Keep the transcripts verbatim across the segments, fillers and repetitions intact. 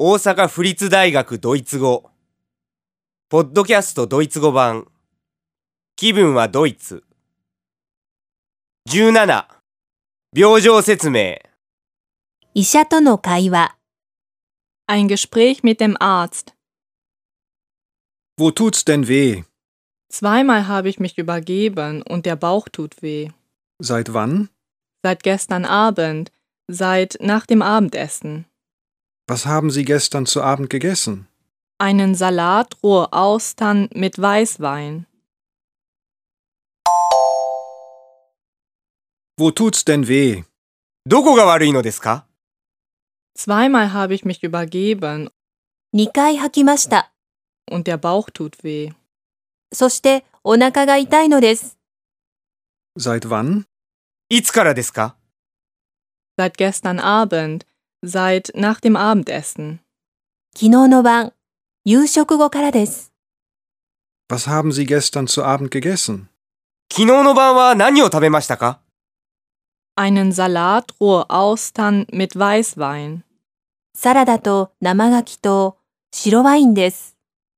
大阪府立大学ドイツ語ポッドキャストドイツ語版気分はドイツじゅうなな病状説明医者との会話 Ein Gespräch mit dem Arzt. Wo tut's denn weh? Zweimal habe ich mich übergeben und der Bauch tut weh. Seit wann? Seit gestern Abend, seit nach dem Abendessen. Was haben Sie gestern zu Abend gegessen? Einen Salat, rohe Austern mit Weißwein. Wo tut's denn weh? どこが悪いのですか Zweimal habe ich mich übergeben にかい吐きました。 und der Bauch tut weh. そしてお腹が痛いのです。 Seit wann? いつからですか Seit gestern Abend, seit nach dem Abendessen. 昨日の晩、夕食後からです。 Was haben Sie gestern zu Abend gegessen? 昨日の晩は何を食べましたか Einen Salat, rohe Austern mit Weißwein. サラダと生牡蠣と白ワインです。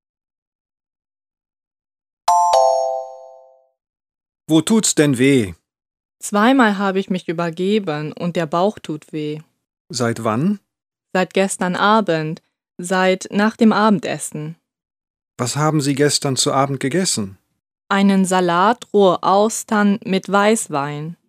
Wo tut's denn weh? Zweimal habe ich mich übergeben und der Bauch tut weh. Seit wann? Seit gestern Abend, seit nach dem Abendessen. Was haben Sie gestern zu Abend gegessen? Einen Salat, rohe Austern mit Weißwein.